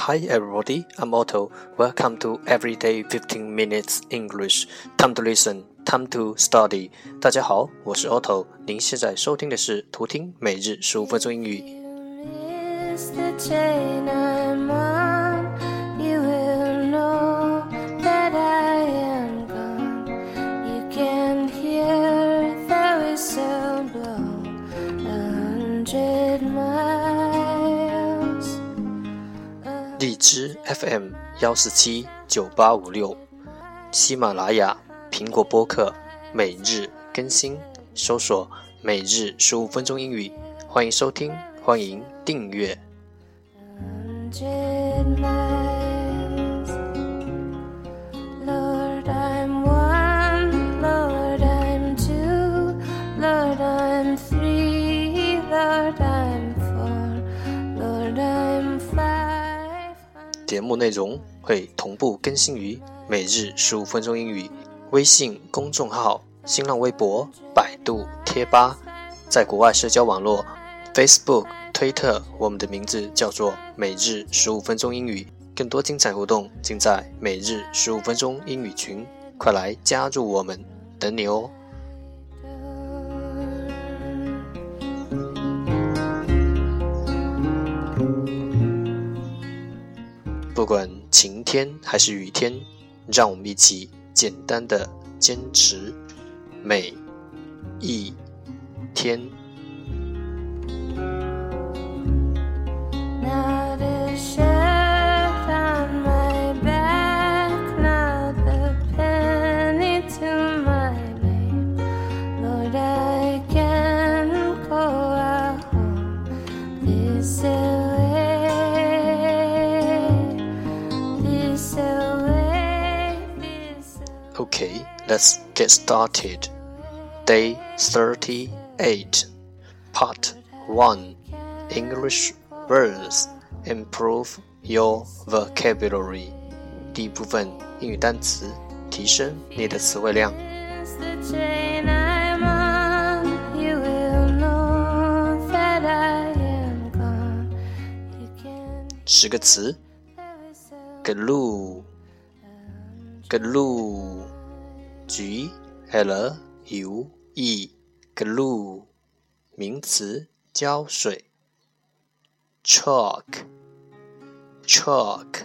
Hi everybody, I'm Otto. Welcome to Everyday 15 Minutes English. Time to listen, time to study. 大家好，我是 Otto。您现在收听的是图听每日15分钟英语。荔枝 FM 1479856，喜马拉雅、苹果播客每日更新，搜索每日15分钟英语，欢迎收听，欢迎订阅。节目内容会同步更新于每日15分钟英语微信公众号、新浪微博、百度贴吧，在国外社交网络 Facebook、推特，我们的名字叫做每日15分钟英语。更多精彩活动尽在每日15分钟英语群，快来加入我们，等你哦。不管晴天还是雨天，让我们一起简单的坚持每一天。Okay, let's get started. Day 38, Part 1, English words. Improve your vocabulary. 第一部分英语单词，提升你的词汇量。10个词 glue glue G-L-U-E glue 名词胶水。chalk chalk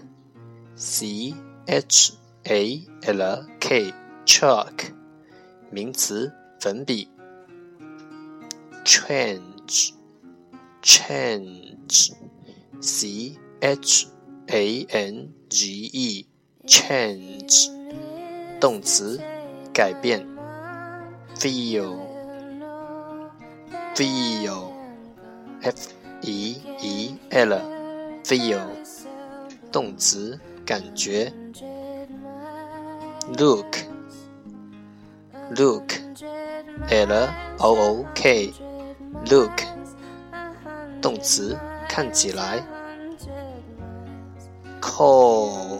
C-H-A-L-K chalk 名词粉笔。change change C-H-A-N-G-E change 动词改变。feel feel F-E-E-L feel 动词感觉。look look L-O-O-K look 动词看起来。call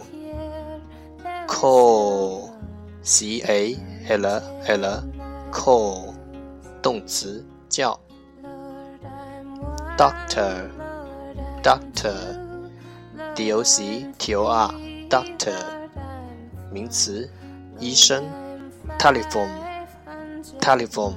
call C-A-L-L call 动词叫。doctor doctor D-O-C-T-O-R doctor 名词医生。telephone telephone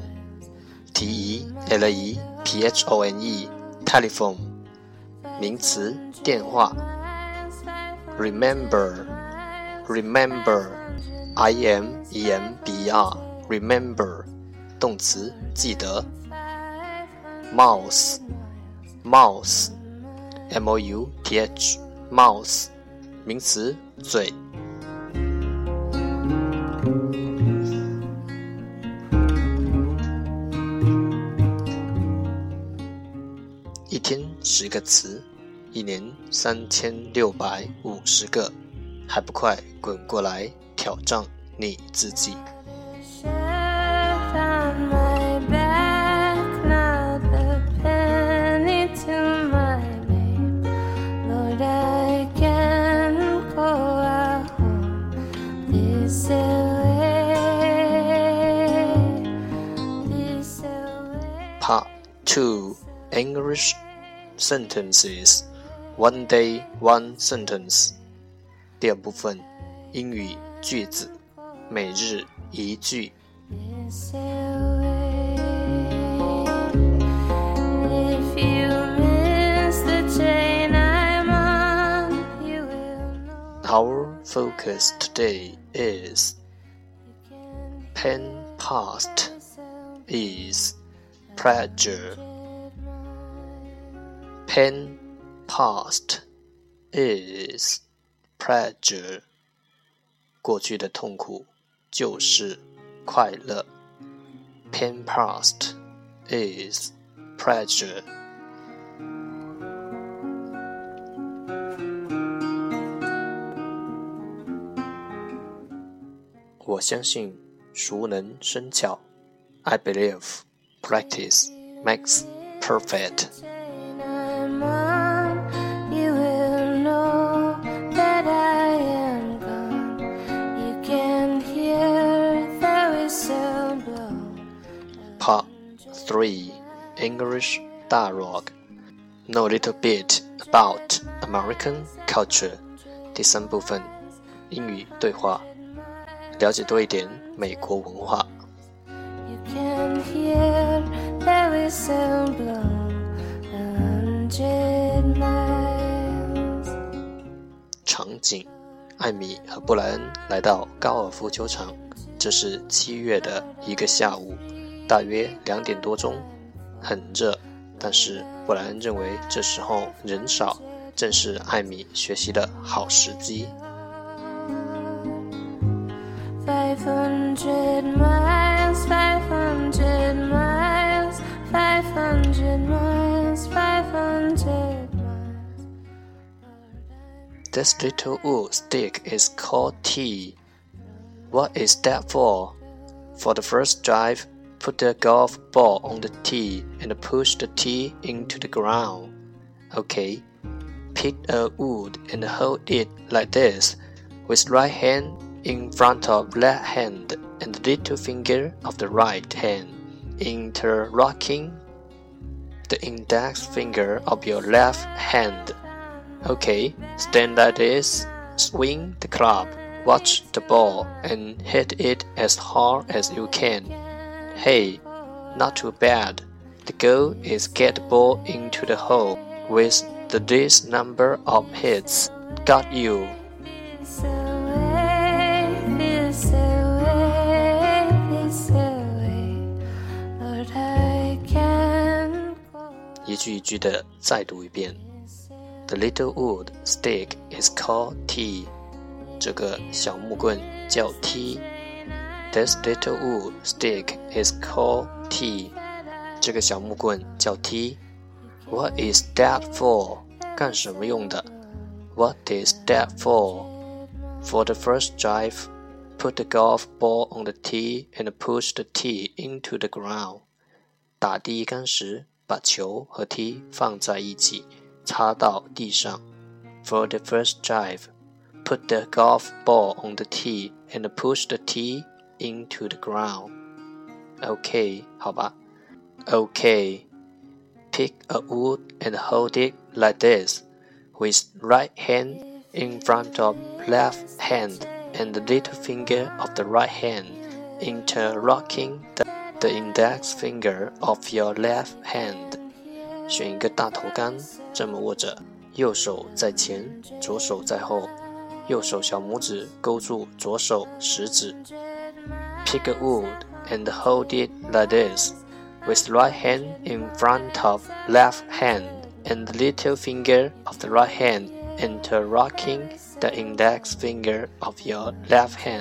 T-E-L-E-P-H-O-N-E telephone 名词电话。remember remember I-M-E-M-B-E-R remember 动词记得。mouse mouse M-O-U-T-H mouse 名词嘴。一天10个词，一年3650个，还不快滚过来挑战你自己。Part 2 English sentences One day, one sentence。第二部分，英语句子，每日一句。Our focus today is pen past is pleasure. Pen past is pleasure. 过去的痛苦就是快乐。Pen past is pleasure. 我相信熟能生巧。I believe practice makes perfect. Part 3 English Dialogue. Know a little bit about American culture. 第三部分英语对话，了解多一点美国文化。场景：艾米和布莱恩来到高尔夫球场，这是7月的一个下午，大约2点多钟，很热，但是布莱恩认为这时候人少，正是艾米学习的好时机。500 miles, 500 miles, 500 miles, 500 miles. This little wood stick is called tee. What is that for? For the first drive, put the golf ball on the tee and push the tee into the ground. Okay. Pick a wood and hold it like this, with right hand in front of left hand and the little finger of the right hand interlocking the index finger of your left hand. Okay, stand like this, swing the club, watch the ball and hit it as hard as you can. Hey, not too bad. The goal is get the ball into the hole with the least number of hits. Got you. 一句一句的再读一遍。The little wood stick is called tee. 这个小木棍叫梯。This little wood stick is called tee. 这个小木棍叫梯。What is that for? 干什么用的？ What is that for? For the first drive, put the golf ball on the tee and push the tee into the ground. 打第一杆时，把球和梯放在一起，插到地上。For the first drive, put the golf ball on the tee and push the tee into the ground. OK, 好吧。OK, pick a wood and hold it like this, with right hand in front of left hand and the little finger of the right hand interlocking the index finger of your left hand. 选一个大头杆，这么握着，右手在前，左手在后，右手小拇指勾住左手食指。Pick a wood and hold it like this, with right hand in front of left hand and the little finger of the right hand interlocking the index finger of your left hand.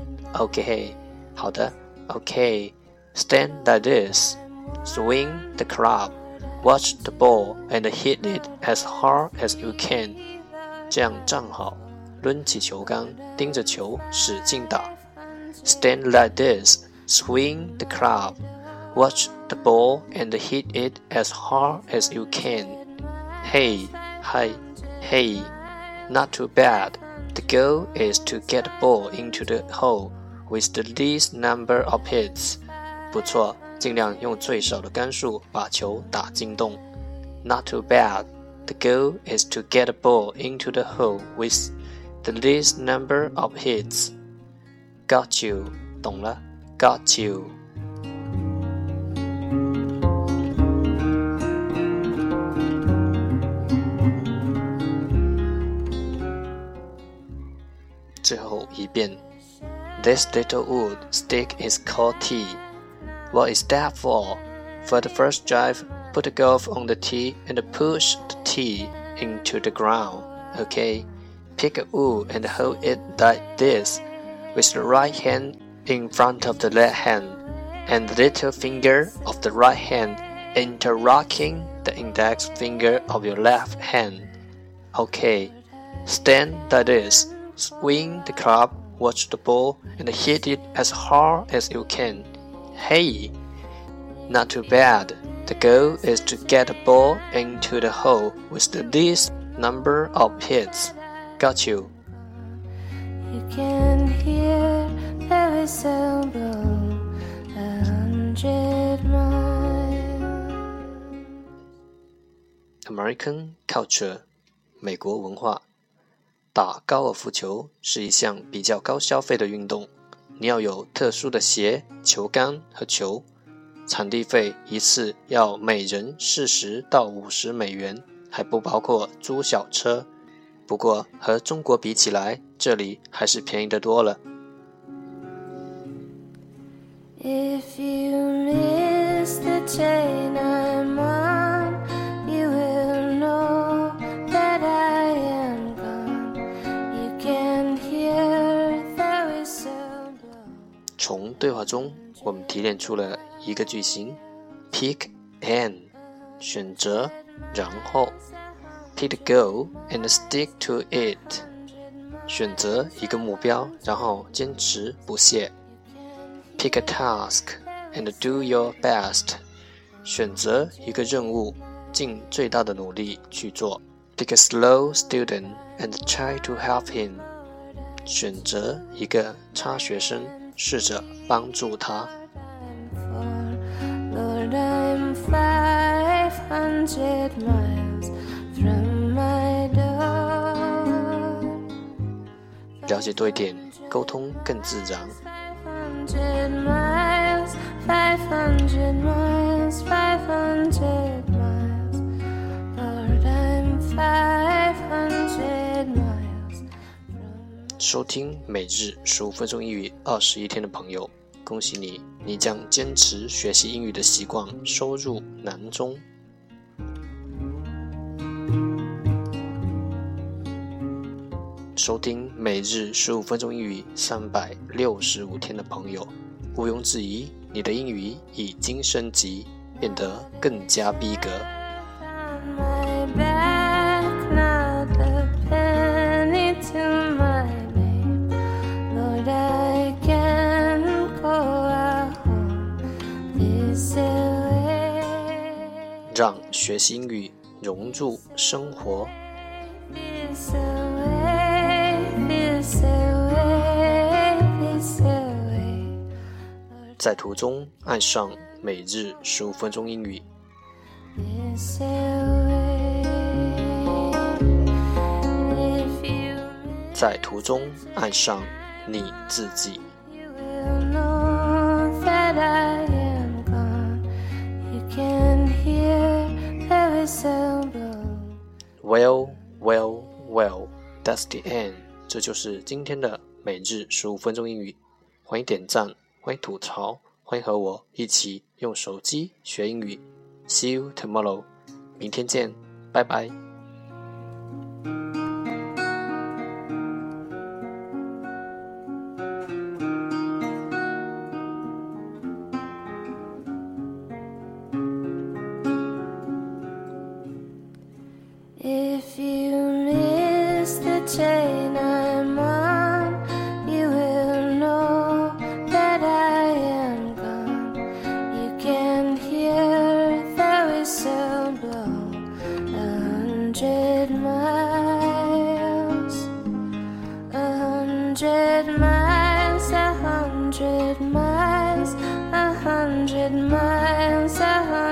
OK, 好的 OK, stand like this, swing the club, watch the ball and hit it as hard as you can. 这样站好，抡起球杆，盯着球使劲打。Stand like this, swing the club, watch the ball and hit it as hard as you can. Hey, hi, hey, not too bad. The goal is to get the ball into the hole with the least number of hits. 不错，尽量用最少的杆数把球打进洞。Not too bad. The goal is to get a ball into the hole with the least number of hits. Got you. 懂了 Got you. 最后一遍 This little wood stick is called tee. What is that for? For the first drive, put the golf on the tee and push the tee into the ground. Okay? Pick a wood and hold it like this, with the right hand in front of the left hand, and the little finger of the right hand interlocking the index finger of your left hand. Okay, stand like this, swing the club, watch the ball, and hit it as hard as you can. Hey, not too bad. The goal is to get the ball into the hole with the least number of hits. Got you. You can hear the whistle blow 100 miles. American culture, 美国文化。打高尔夫球是一项比较高消费的运动，你要有特殊的鞋、球杆和球，场地费一次要每人40到50美元，还不包括租小车。不过和中国比起来，这里还是便宜得多了。 If you miss the train I'm on, you will know that I am gone. You can hear the whistle blow. 从对话中，我们提炼出了一个句型 ：pick and 选择，然后 pick the goal and stick to it 选择一个目标，然后坚持不懈。Pick a task and do your best 选择一个任务，尽最大的努力去做。Pick a slow student and try to help him 选择一个差学生，试着帮助他。 Lord, I'm 500 miles from my door. 了解多一点，沟通更自然。 500 miles, 500 miles, 500 miles. Lord, I'm 500 miles. 收听每日15分钟英语21天的朋友，恭喜你，你将坚持学习英语的习惯收入囊中。收听每日15分钟英语365天的朋友，毋庸置疑，你的英语已经升级，变得更加逼格。 My back, not a penny to my babe. Lord, I can't go home this way. 让学习英语融入生活。 This away, this away, this away. 在途中爱上每日15分钟英语。 This away. If you 在途中爱上你自己。 You will know that I am gone. You can hear the whistle blow. Well, that's the end. 这就是今天的每日15分钟英语。欢迎点赞，欢迎吐槽，欢迎和我一起用手机学英语。See you tomorrow. 明天见，拜拜。 If you miss the train I'm on, you will know that I am gone. You can hear the whistle blow 100 miles, 100 miles, 100 miles, 100 miles, 100